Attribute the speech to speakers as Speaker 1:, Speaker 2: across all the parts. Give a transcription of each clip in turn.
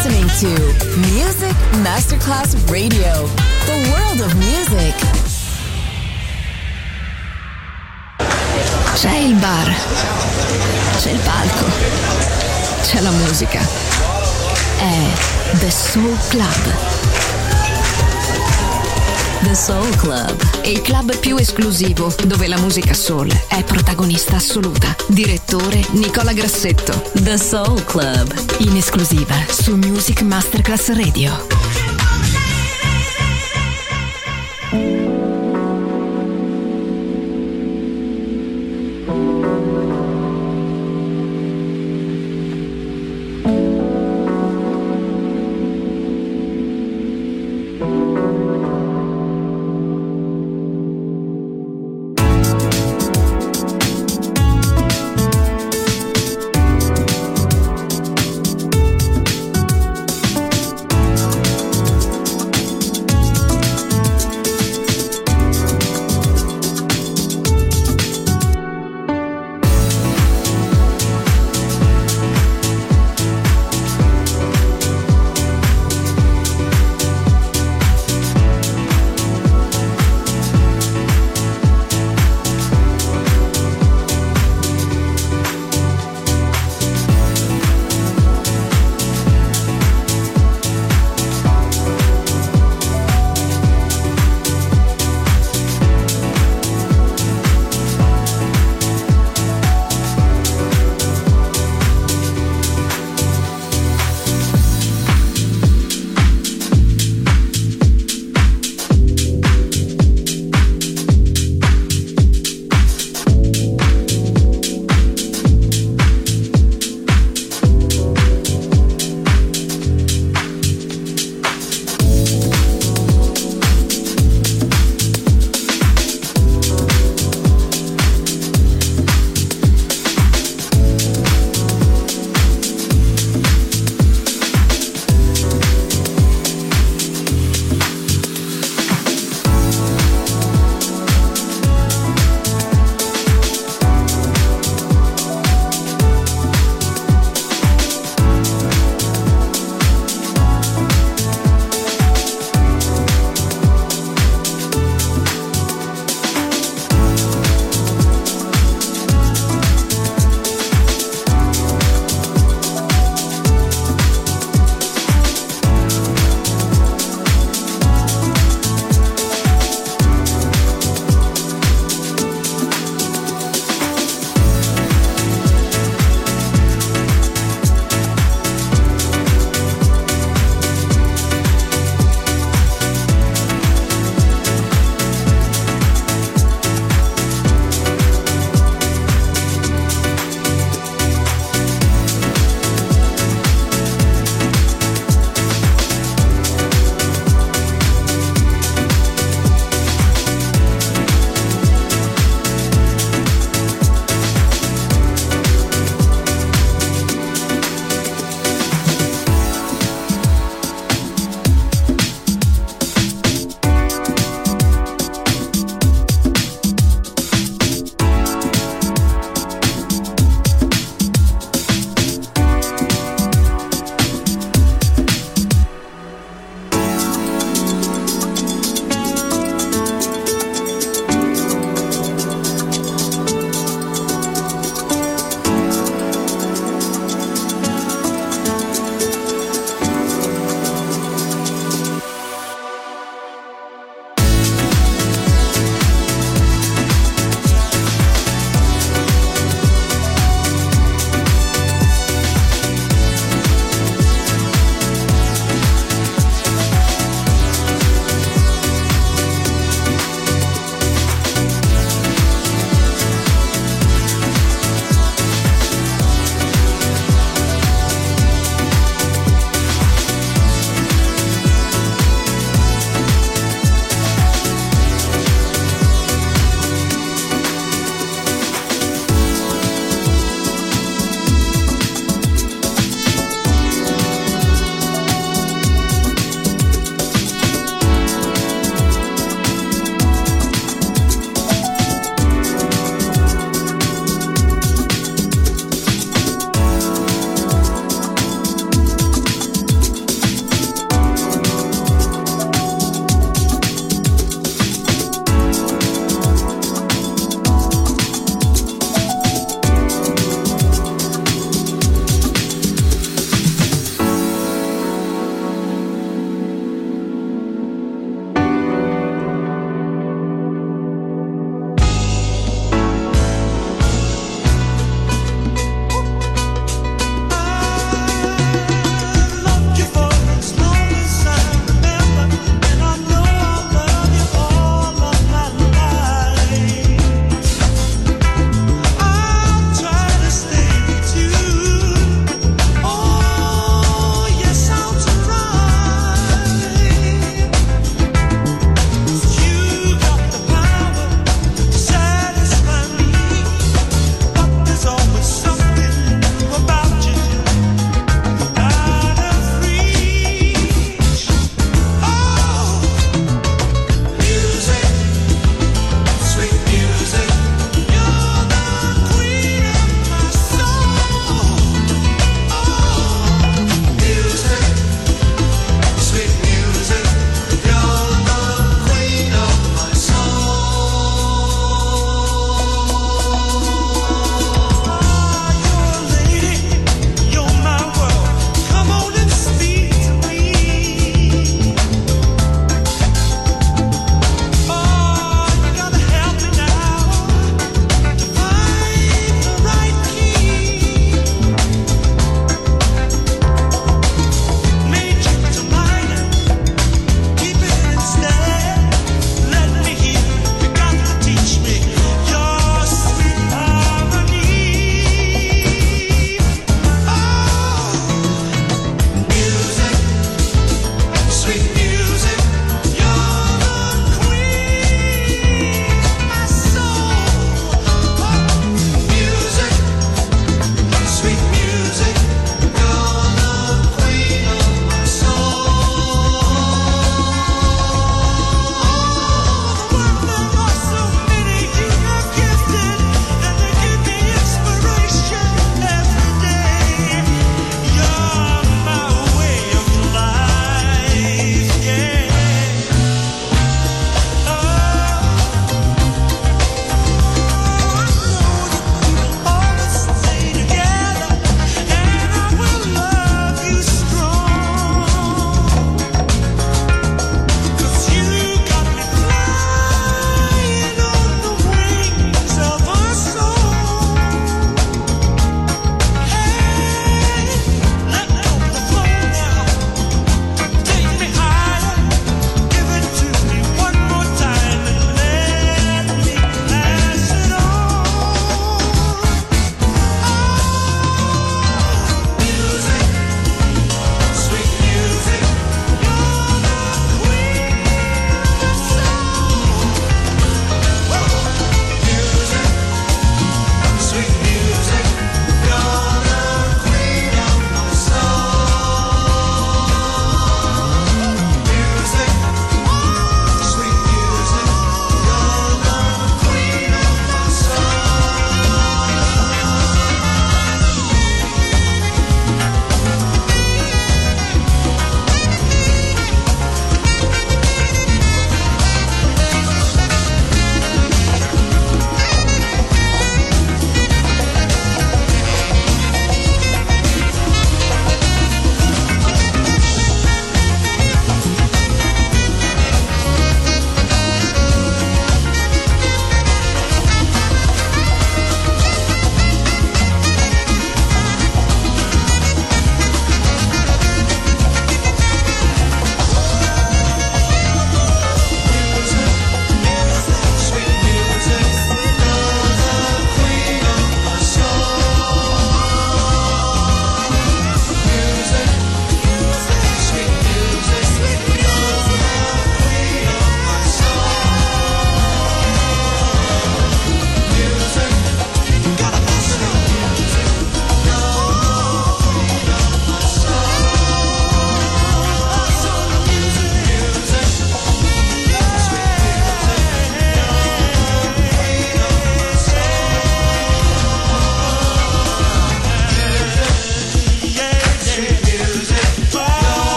Speaker 1: listening to Music Masterclass Radio, the world of music.
Speaker 2: C'è il bar, c'è il palco, c'è la musica. È The Soul Club.
Speaker 1: The Soul Club,
Speaker 2: Il club più esclusivo dove la musica soul è protagonista assoluta. Direttore Nicola Grassetto.
Speaker 1: The Soul Club,
Speaker 2: In esclusiva su Music Masterclass Radio.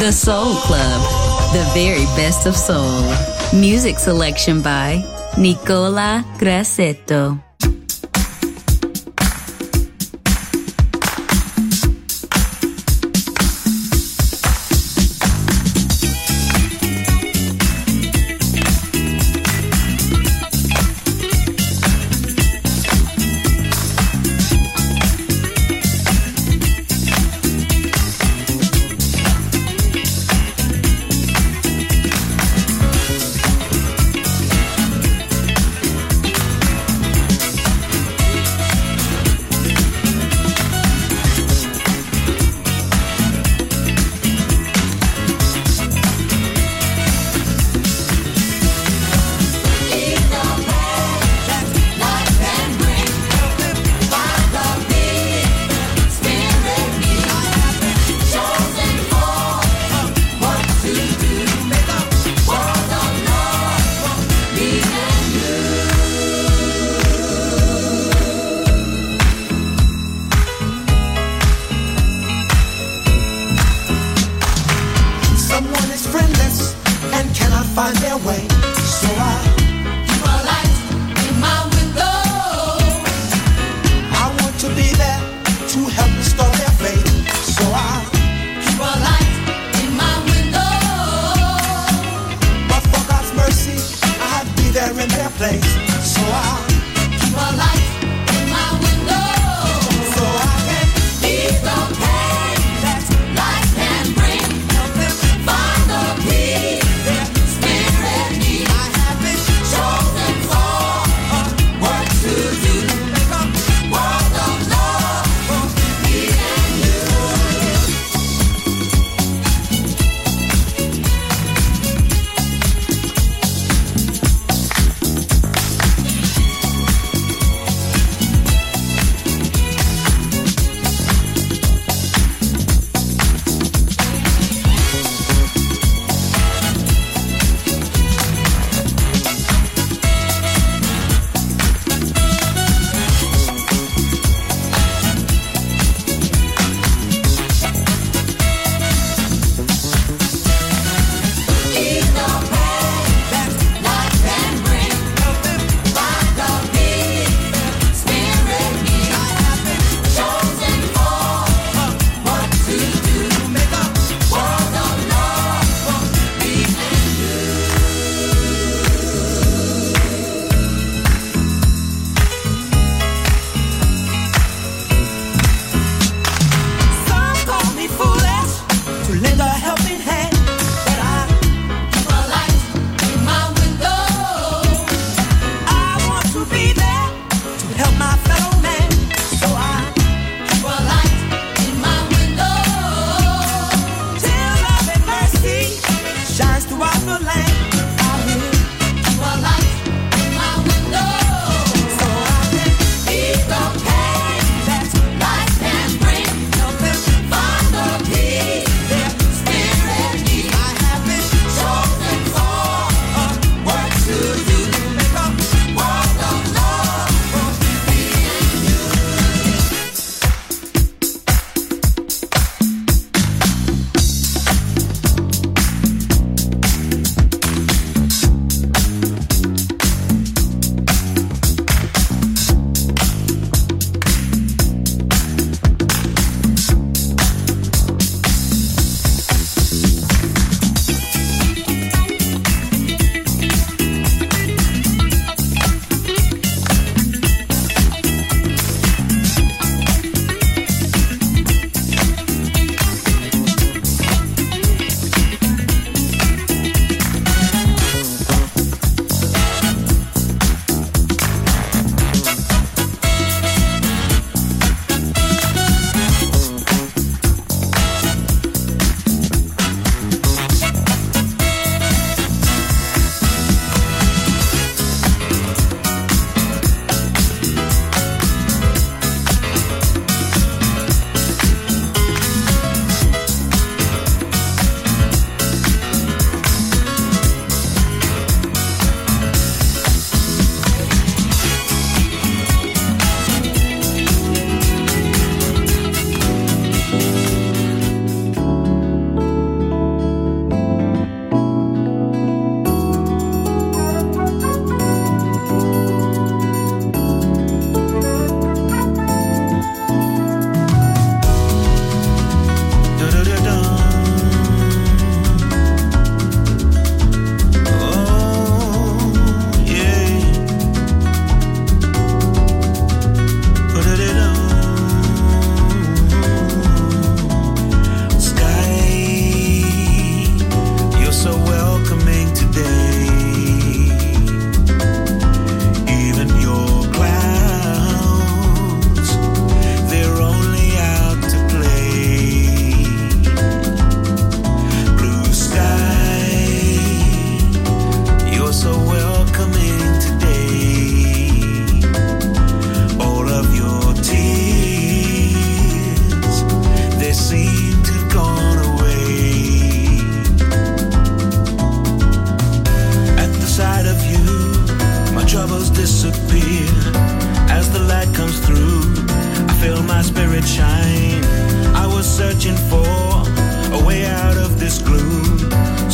Speaker 3: The Soul Club, the very best of soul. Music selection by Nicola Grassetto.
Speaker 4: Spirit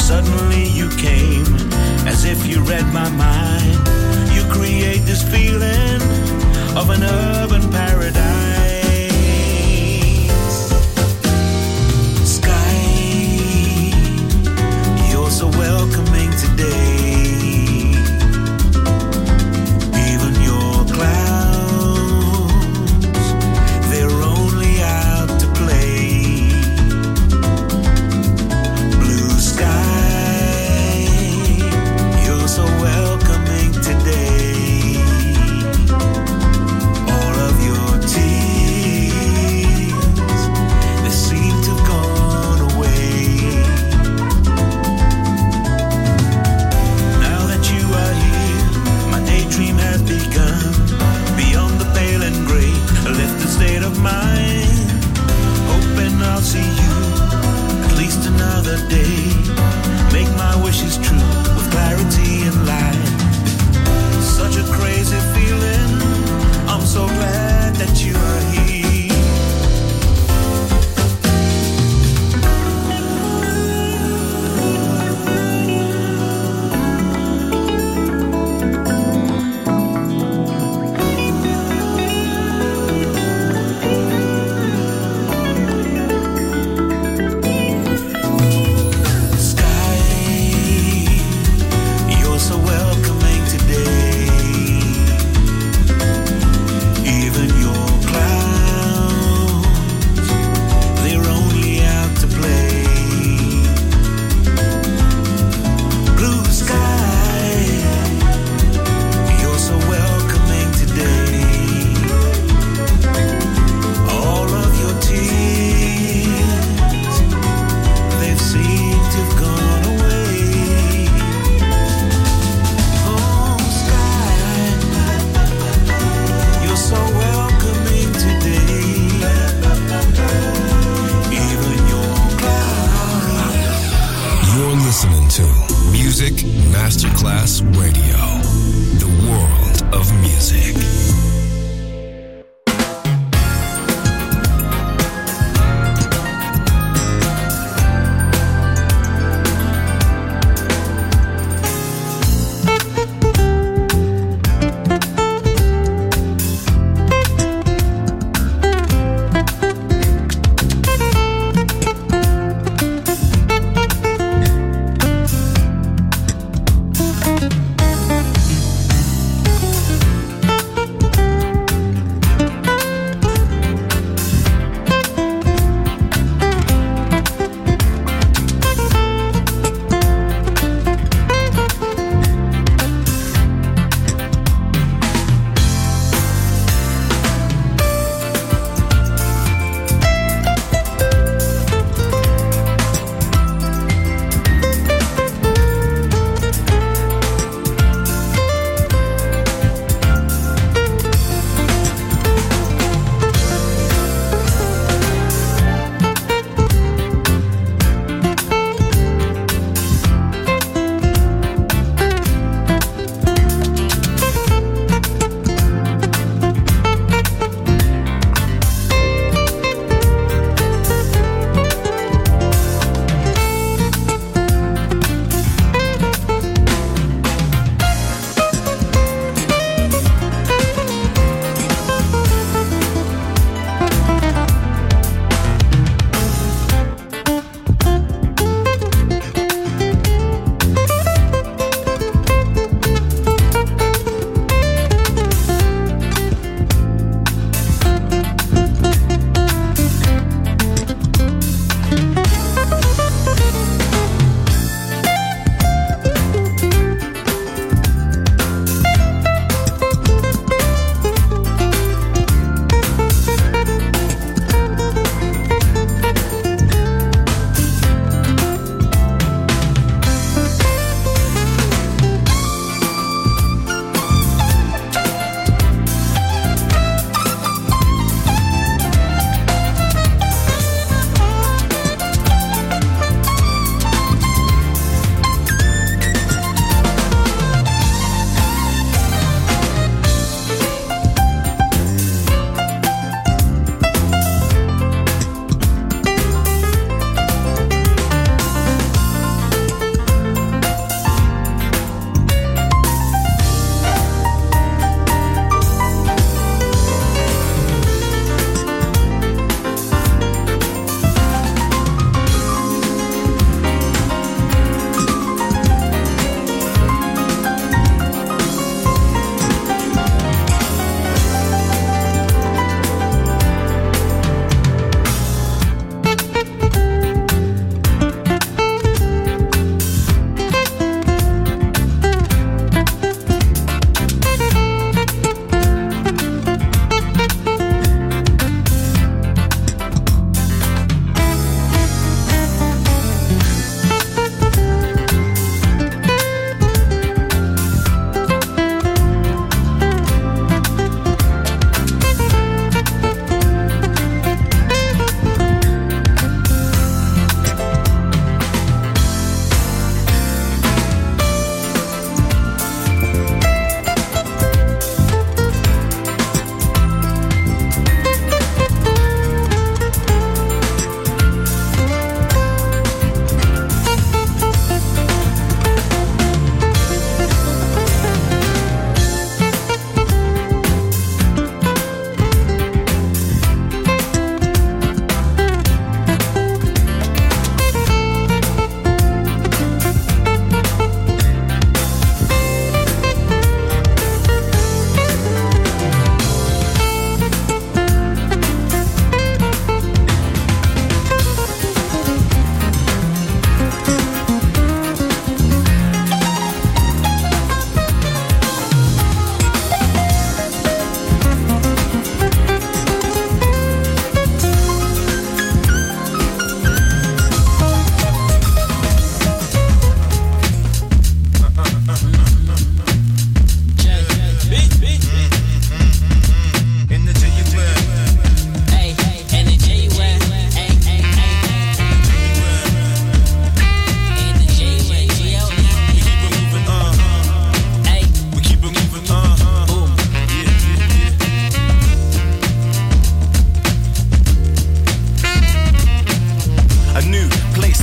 Speaker 4: Suddenly you came, as if you read my mind. You create this feeling of an urban paradise. Sky, you're so welcoming today. Even your clouds, they're only out to play. Blue sky, you're so welcoming today. All of your tears, they seem to have gone away. Now that you are here, my daydream has begun. Beyond the pale and gray, a lifted state of mind. Hoping I'll see you at least another day. Make my wishes true with clarity and light. Such a crazy feeling, I'm so glad that you are here. Sky, you're so welcoming today. Even your clouds, they're only out to play. Blue sky, you're so welcoming today. All of your tears, they've seemed to have gone away. Oh, sky, you're so welcoming today. Even your clouds.
Speaker 5: You're listening to Music Masterclass Radio, the world of music.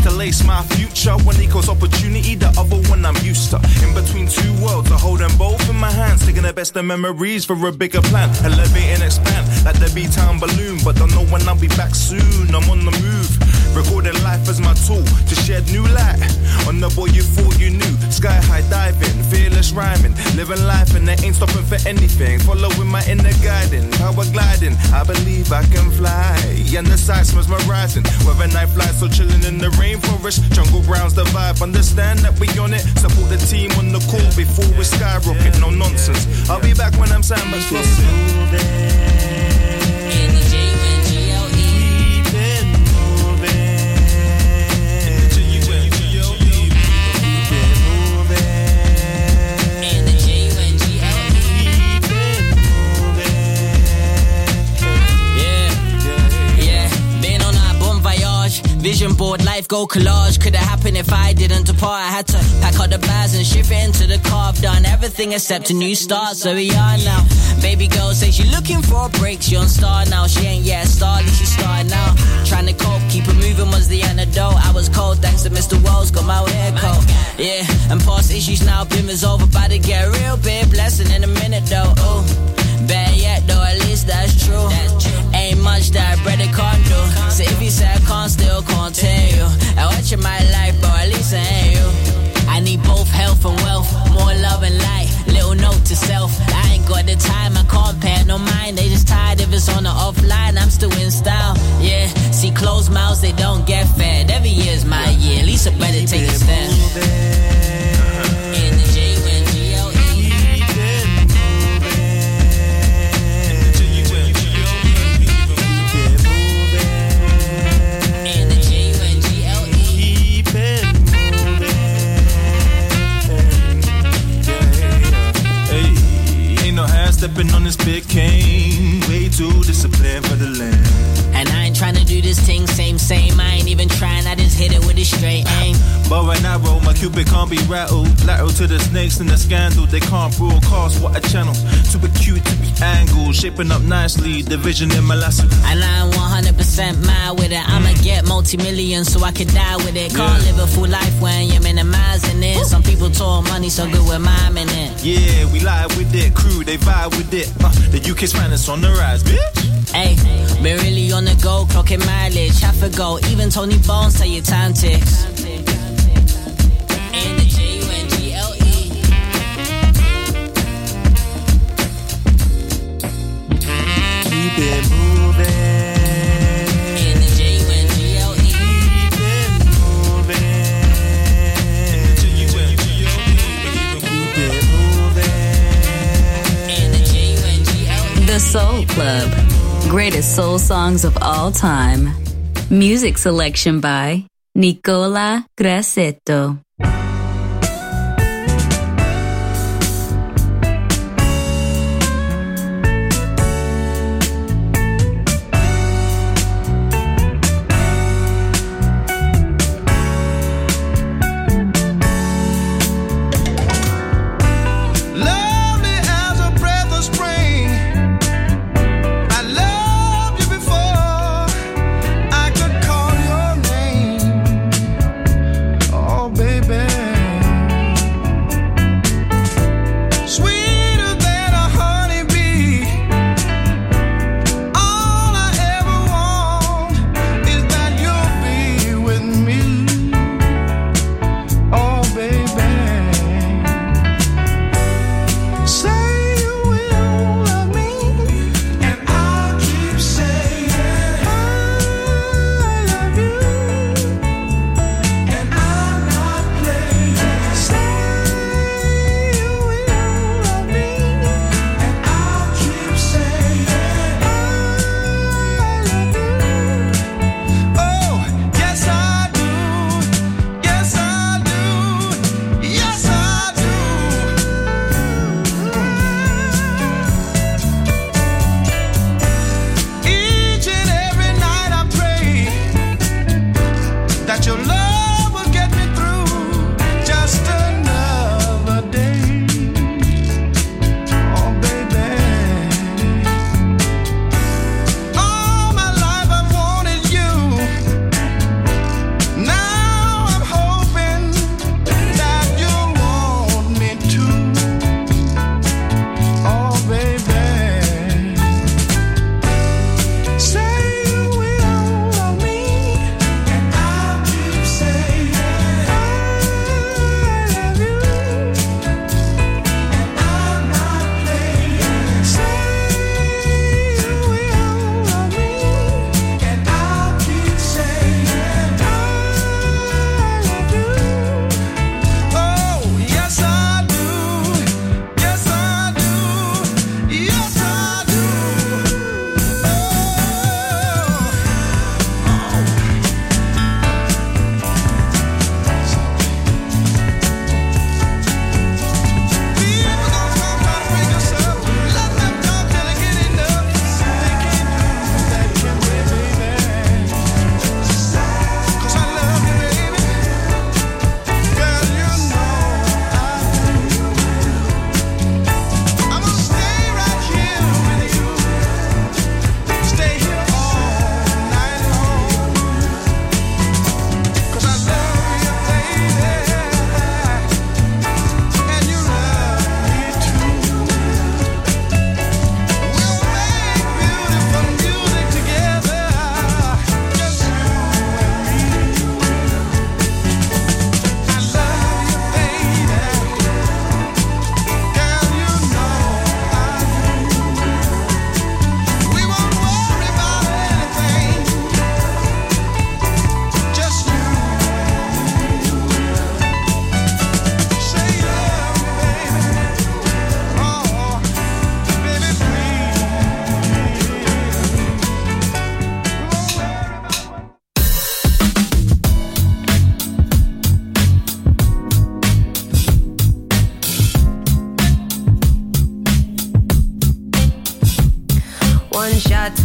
Speaker 6: to lace my future. One equals opportunity, the other one I'm used to. In between two worlds, I hold them both in my hands, taking the best of memories for a bigger plan. Elevate and expand like the B-Town balloon, but don't know when I'll be back soon. I'm on the move, recording life as my tool to shed new light on the boy you thought you knew. Sky high diving, fearless rhyming, living life and they ain't stopping for anything. Following my inner guiding, power gliding. I believe I can fly, and the sights mesmerizing. Whether night flies or chilling in the rainforest, jungle grounds the vibe. Understand that we on it. Support the team on the call before we skyrocket. No nonsense. I'll be back when I'm sandwich flossing.
Speaker 7: Vision board, life go collage. Could have happened if I didn't depart. I had to pack up the bags and ship it into the car. I've done everything except a new start, so we are now. Baby girl says she looking for a break. She on star now, she ain't yet a star, at least she started now. Trying to cope, keep it moving was the antidote. I was cold thanks to Mr. Wells, got my hair coat. Yeah, and past issues now, Bim is over. About to get a real big blessing in a minute though. Ooh, better yet though, at least that's true. Ain't much that bread can't do. So if you say I can't, still continue. I watch in my life, bro, at least I ain't you. I need both health and wealth, more love and light. Little note to self, I ain't got the time, I can't pay no mind. They just tired if it's on or offline, I'm still in style. Yeah, see closed mouths, they don't get fed. Every year's my year, at least I better take a stand.
Speaker 6: Stepping on this big cane, way too disciplined for the land.
Speaker 7: And I ain't trying to do this thing same. I ain't even trying, I just hit it with a straight aim.
Speaker 6: But right now, my cupid can't be rattled. Lateral to the snakes and the scandal. They can't broadcast what a channel. Super cute to be angled, shaping up nicely. The vision in my lasso.
Speaker 7: And I'm 100% mad with it. I'ma get multi-million so I can die with it. Can't live a full life when you're minimizing it. Some people talk money so good with miming it.
Speaker 6: Yeah, we live with it. Crew, they vibe with it. The UK's finest on the rise, bitch.
Speaker 7: Hey, been really on the go, clocking mileage. Half a go, even Tony Bones tell your time ticks. And the J-U-N-G-L-E.
Speaker 6: Keep it moving.
Speaker 7: And the J-U-N-G-L-E.
Speaker 6: Keep it moving. Keep it moving.
Speaker 7: And the J-U-N-G-L-E.
Speaker 3: The Soul Club. Greatest soul songs of all time. Music selection by Nicola Grassetto.
Speaker 8: Baby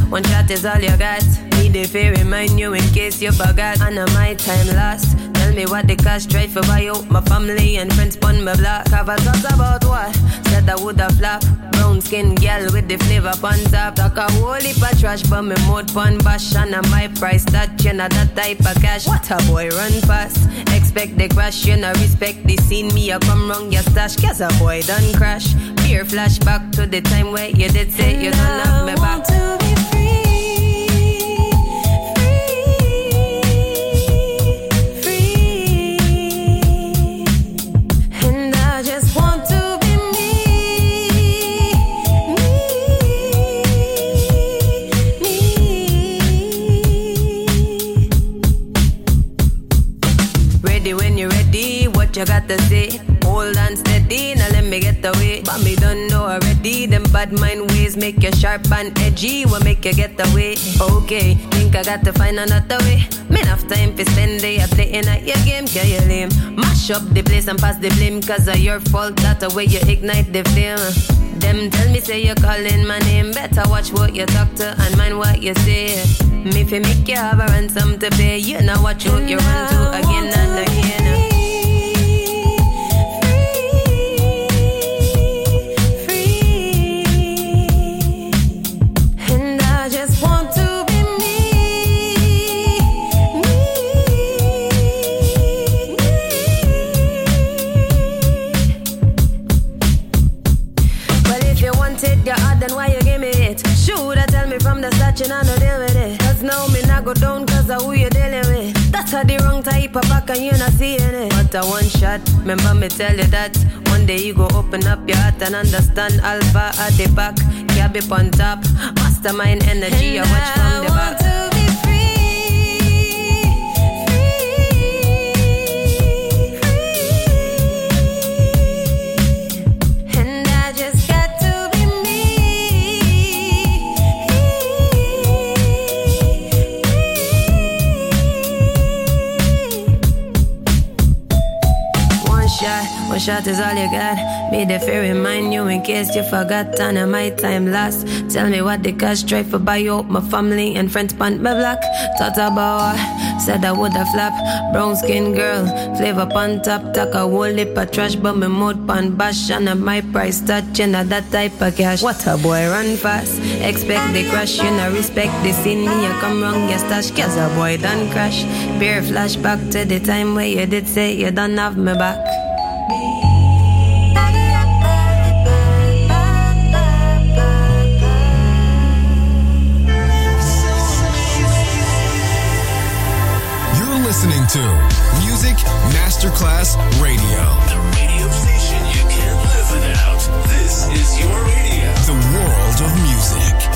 Speaker 8: one shot is all you got. Need if I remind you in case you forgot. And my time lost. Tell me what the cost, try for buy out my family and friends pon my block. Have a thought about what? Said I woulda flop. Brown skin girl with the flavor pon top. Talk a whole heap of trash, but me mouth pon bash. And my price that you know that type of cash. What a boy run fast. Expect the crash, you know respect the scene. Me a come wrong your stash, cause a boy done crash. Pure flashback to the time where you did say you don't have me back. You got to say, hold on steady, now let me get away. But me don't know already, them bad mind ways make you sharp and edgy, what make you get away. Okay, think I got to find another way. Me enough time for spend day playing at your game, can you lame? Mash up the place and pass the blame, cause of your fault, that's the way you ignite the flame. Them tell me say you're calling my name, better watch what you talk to and mind what you say. Me fi make you have a ransom to pay, you know watch what you run to again and again. You know, no deal with it. Cause now me not go down cause of who you dealing with. That's how the wrong type of back and you not seeing it. But a one shot, remember me tell you that. One day you go open up your heart and understand alpha at the back. Cab up on top, mastermind energy, I watch from the back. One shot is all you got. Made the fear remind you in case you forgot. And my time lost. Tell me what the cash try for buy out my family and friends pant my black. Thought about what? Said I woulda flap. Brown skin girl, flavor pan top. Talk a whole heap of trash, but me mouth pan bash. And my price touch, you know that type of cash. What a boy run fast. Expect the crash, you know respect the scene. Me you come wrong, your stash, cause a boy done crash. Beer flashback to the time where you did say you don't have me back.
Speaker 5: Listening to Music Masterclass Radio.
Speaker 9: The radio station you can't live without. This is your radio.
Speaker 5: The world of music.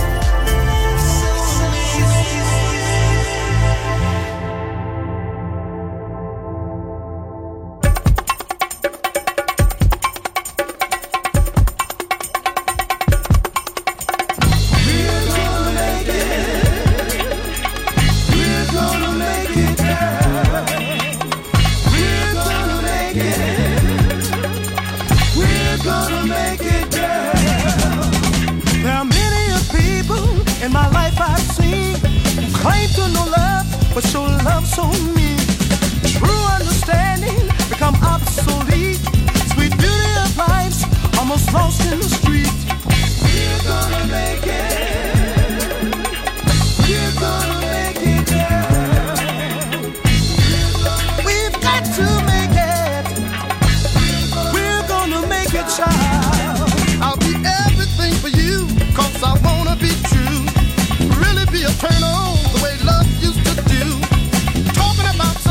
Speaker 10: But show love so mean. True understanding become obsolete. Sweet beauty of life's almost lost in the street. We're gonna make it. We're gonna make it, girl. We've got to make it. We're gonna make it, child. I'll be everything for you, cause I wanna be true. Really be a turn on the way love used to do. Talking about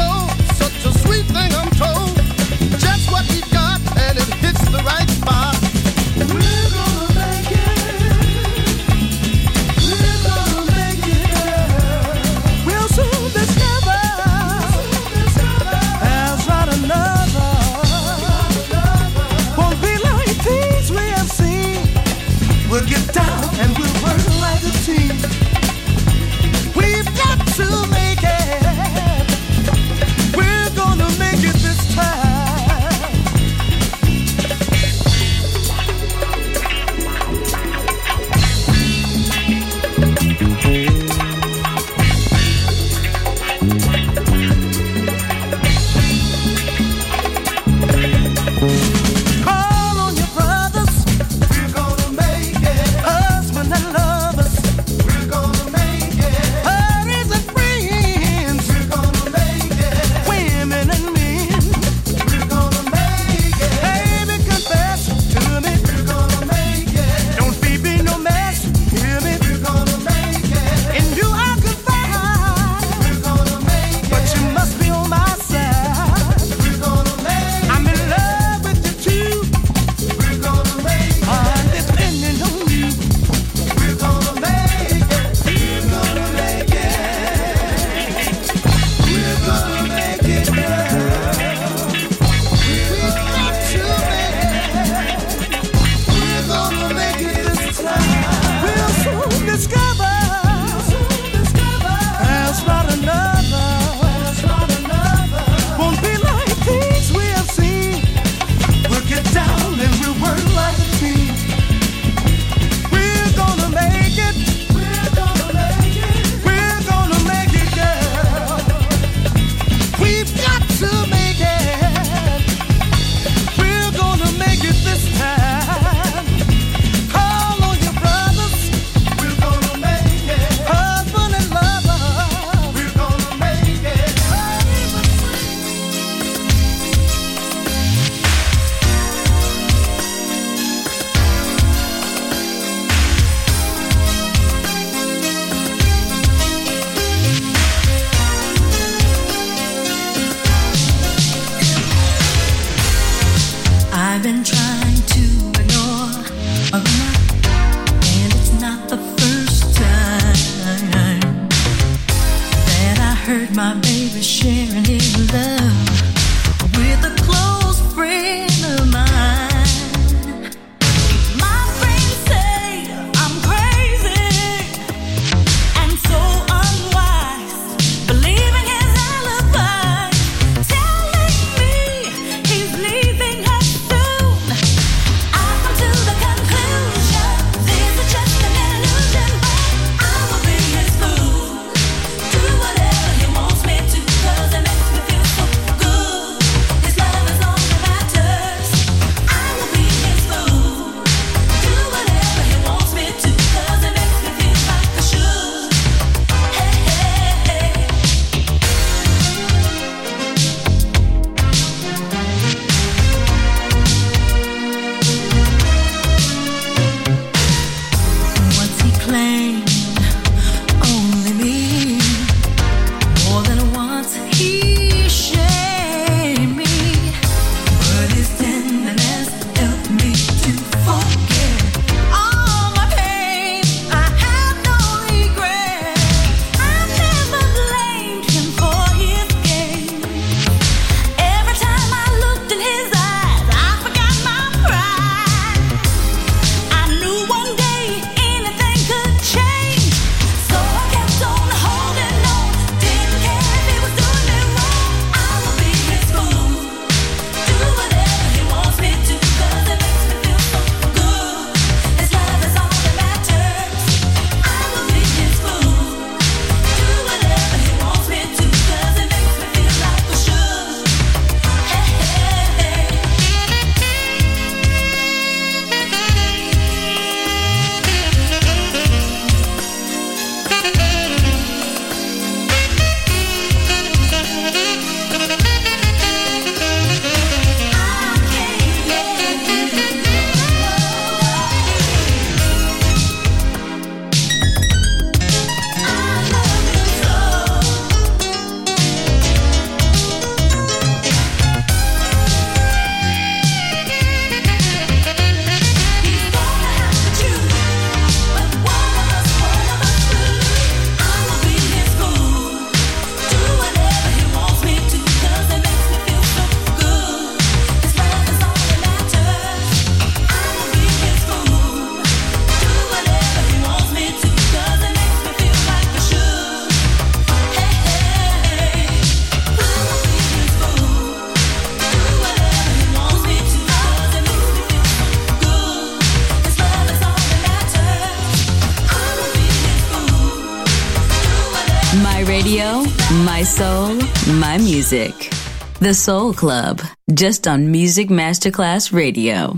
Speaker 10: Call on your brothers, we're gonna make it. Husband and lovers, we're gonna make it. Buddies and friends, we're gonna make it. Women and men, we're gonna make it. Baby, confess to me, we're gonna make it. Don't be no mess, hear me, we're gonna make it. In you I confide, we're gonna make it. But you must be on my side, we're gonna make it. I'm in love with you too, we're gonna make it. I'm depending on you, we're gonna make it. We're gonna make it. We're gonna make it, girl. We've got to make it. We're gonna make it this time. We'll soon discover there's not another. Won't be like things we have seen. We'll get down and we'll work like a team. We're gonna make it. We're gonna make it. We're gonna make it, girl. We've got to make it. We're gonna make it this time. Call on your brothers. We're gonna make it. Husband and lover. We're gonna make it.
Speaker 11: I've been trying to ignore all the night, and it's not the first time that I heard my baby sharing his love with a close friend of mine. My friends say I'm crazy and so unwise, believing his alibi, telling me he's leaving her soon. I've come to the conclusion this is just an illusion, but I will be his fool. Do whatever he wants me to, 'cause it makes me feel so good. His love is all that matters. I will be his fool. Do whatever he wants me to, 'cause it makes me feel like I should. Hey, hey, hey. Once he claimed only me, more than once he shamed me, but his tenderness helped me to forget all my pain. I have no regret. I never blamed him for his game. Every time I looked in his eyes, I forgot my pride. I knew one day anything could change, so I kept on holding on. Didn't care if he was doing me wrong. I will be his fool. Do whatever he wants me to, 'cause it makes me feel so good. His love is all that matters. I will be his fool. Do whatever he wants me to, 'cause it makes me feel like I should. Hey, hey, hey.
Speaker 3: My radio, my soul, my music. The Soul Club, just on Music Masterclass Radio.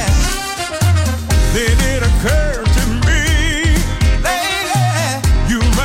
Speaker 10: Then it occurred to me, lady, you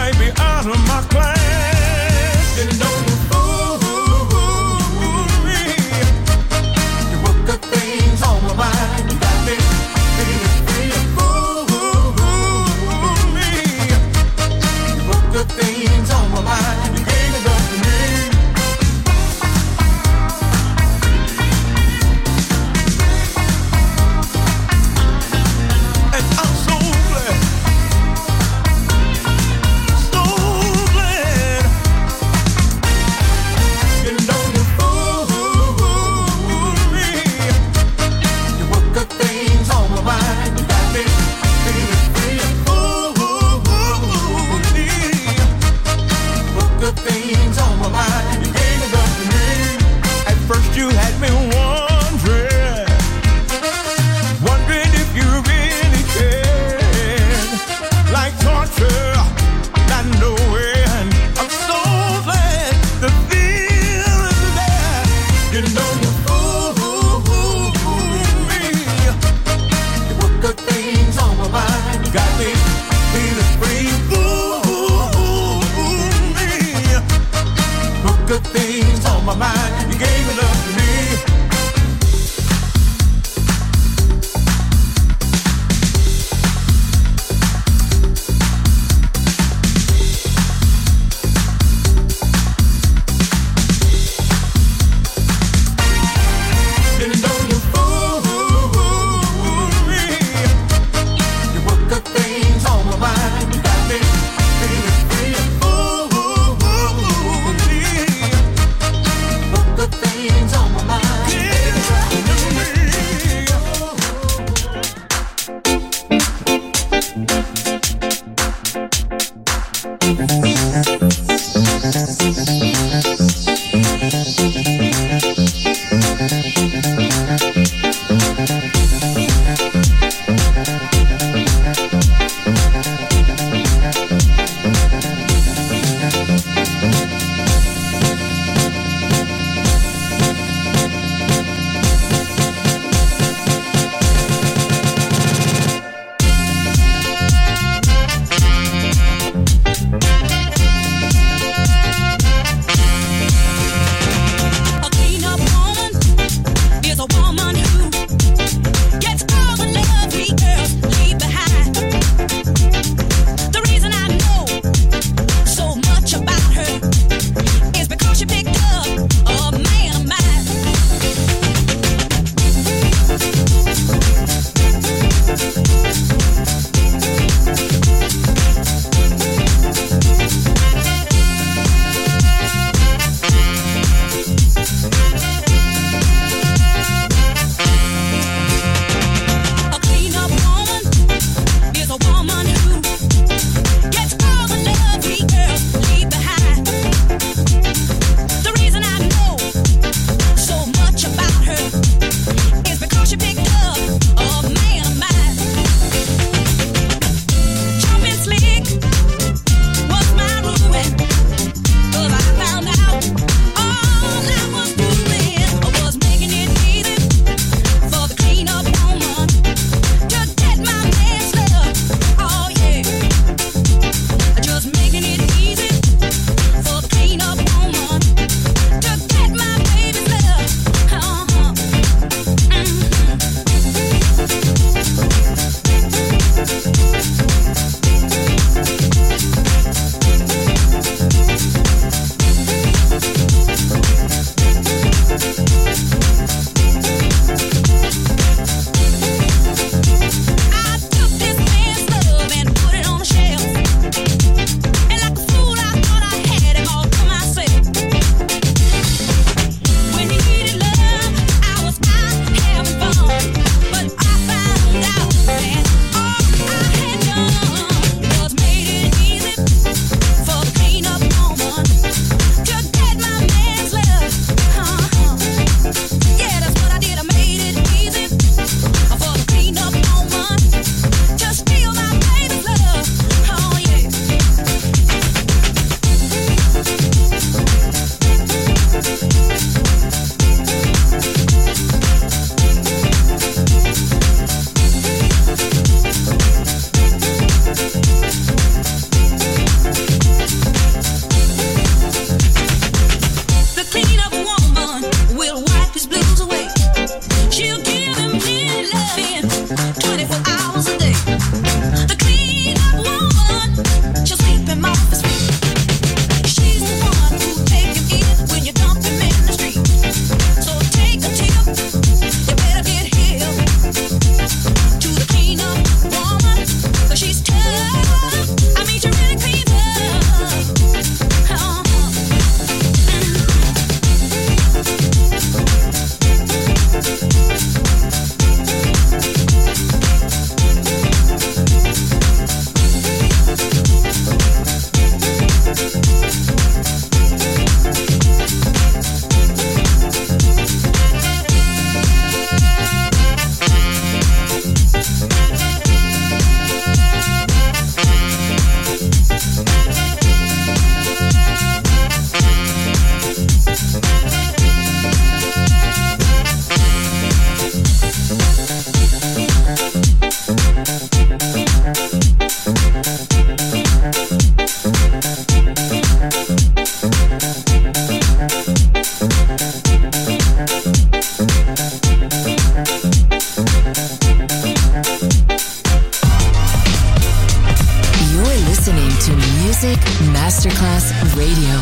Speaker 1: Music Masterclass Radio.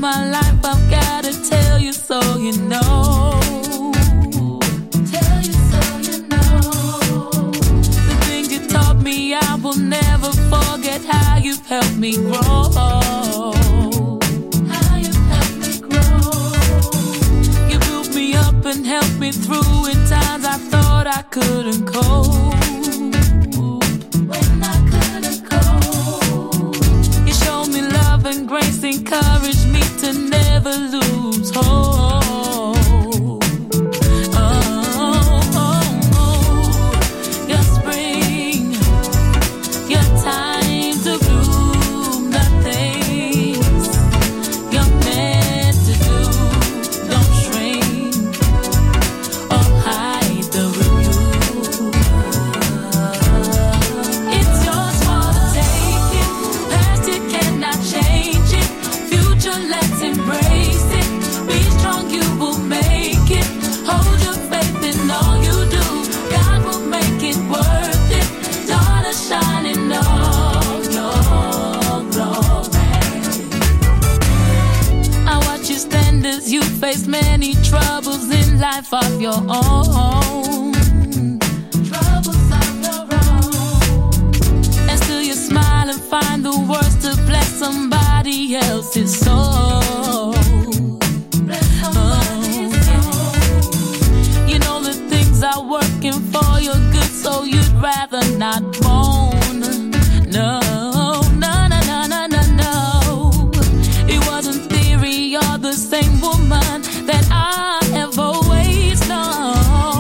Speaker 11: my life, I've gotta tell you so you know. Tell you so you know. The things you taught me, I will never forget how you've helped me grow. How you've helped me grow. You built me up and helped me through in times I thought I couldn't cope. And grace encouraged me to never lose hope. Your spring, your time to bloom, the things you're meant to do. Don't shrink or hide the review. It's yours for the taking. Past you cannot change. Let's embrace it. Be strong, you will make it. Hold your faith in all you do. God will make it worth it. Daughter, shine in all your glory. I watch you stand as you face many troubles in life of your own. Troubles of your own. And still you smile and find the words to bless somebody else's soul. You know the things are working for your good, so you'd rather not moan. No, no, no, no, no, no, no. It wasn't theory, you're the same woman that I have always known.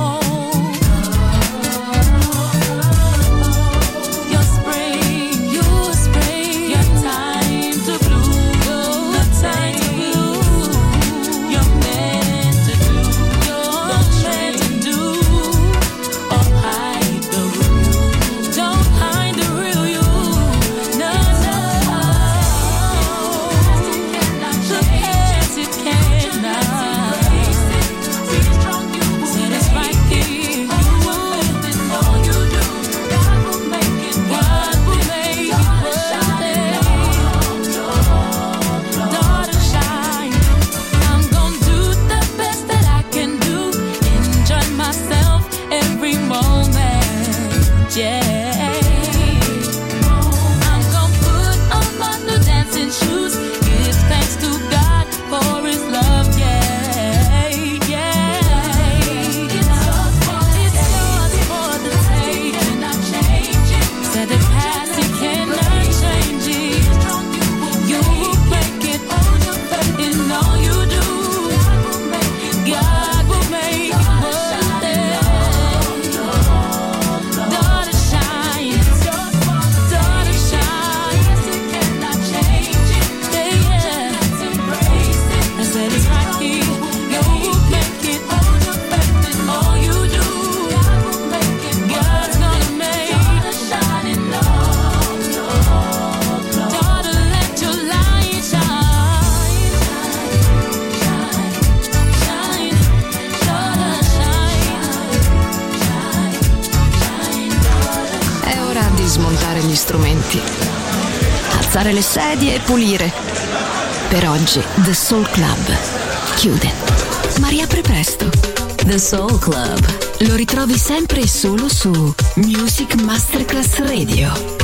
Speaker 2: Strumenti, alzare le sedie e pulire. Per oggi The Soul Club chiude, ma riapre presto.
Speaker 3: The Soul Club
Speaker 2: lo ritrovi sempre e solo su Music Masterclass Radio.